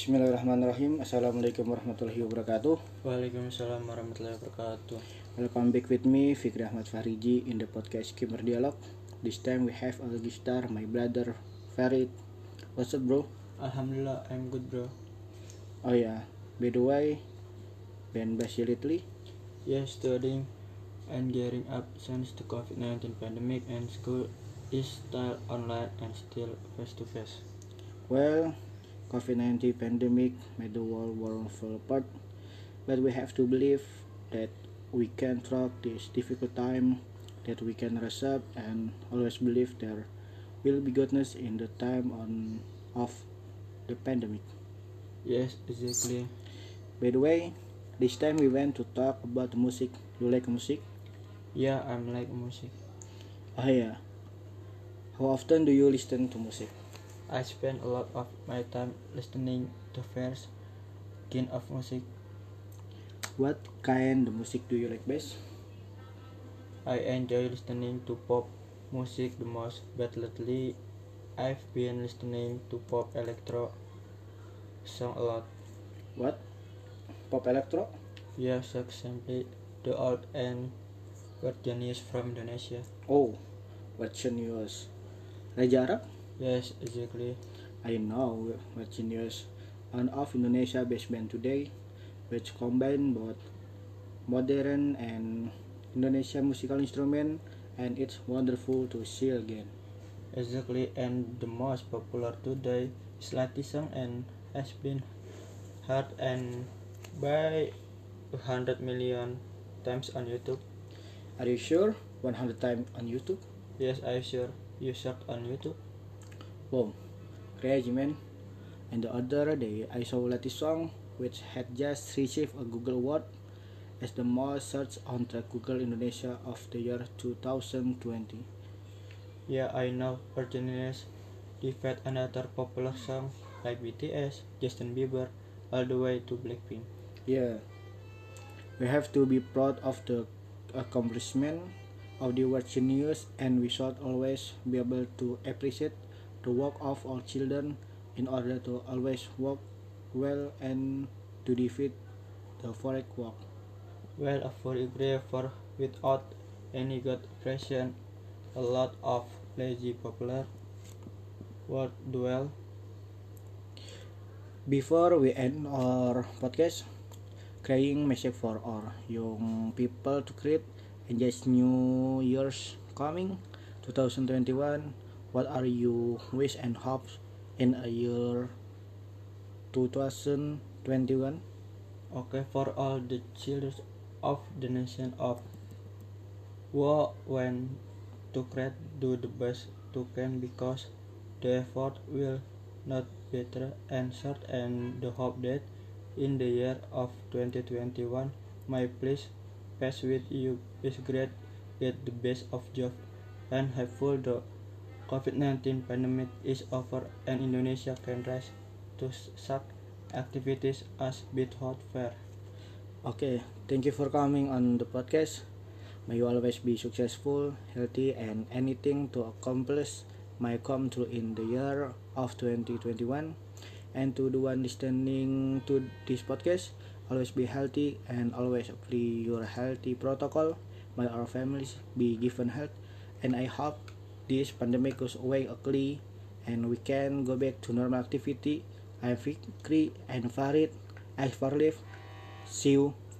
Bismillahirrahmanirrahim. Assalamualaikum warahmatullahi wabarakatuh. Waalaikumsalam warahmatullahi wabarakatuh. Welcome back with me, Fikri Ahmad Fariji, in the podcast Kimmer Dialog. This time we have a guest star, my brother Farid. What's up, bro? Alhamdulillah, I'm good, bro. Oh yeah, by the way, been busy lately? Yes, studying and gearing up since the COVID-19 pandemic and school is still online and still face-to-face. Well, COVID-19 pandemic made the world fall apart, but we have to believe that we can through this difficult time, that we can rise up and always believe there will be goodness in the time of the pandemic. Yes, exactly. By the way, this time we went to talk about music. You like music? Yeah, I'm like music. Oh yeah. How often do you listen to music? I spend a lot of my time listening to various kind of music. What kind of music do you like best? I enjoy listening to pop music the most, but lately I've been listening to pop electro song a lot. What? Pop electro? Yes, simply the old and genius from Indonesia. Oh, what genius? Raja Arab? Yes, exactly. I know what genius. One of Indonesia best band today, which combine both modern and Indonesia musical instrument, and it's wonderful to see again. Exactly, and the most popular today is Latin song and has been heard and by 100 million times on YouTube. Are you sure? 100 times on YouTube? Yes, I'm sure you search on YouTube. Wow, crazy man. And the other day I saw latest song which had just received a Google Award as the most searched on the Google Indonesia of the year 2020. Yeah, I know. Genius defeat another popular song like BTS, Justin Bieber, all the way to Blackpink. Yeah, we have to be proud of the accomplishment of the word genius, and we should always be able to appreciate the work of all children in order to always work well and to defeat the foreign work. Well, a choreographer without any good impression, a lot of lazy popular word duel. Before we end our podcast, creating message for our young people to create and just New Year's coming 2021. What are you wish and hopes in a year 2021? Okay, for all the children of the nation of war when to create do the best to can because the effort will not better and short and the hope that in the year of 2021 my place pass with you is great, get the best of job and hopeful the COVID-19 pandemic is over and Indonesia can rise to such activities as bit hot fair. Okay, thank you for coming on the podcast. May you always be successful, healthy, and anything to accomplish may come true in the year of 2021. And to the one listening to this podcast, always be healthy and always apply your healthy protocol. May our families be given health, and I hope this pandemic goes away quickly and we can go back to normal activity. I'm Fikri and Farid. I for live. See you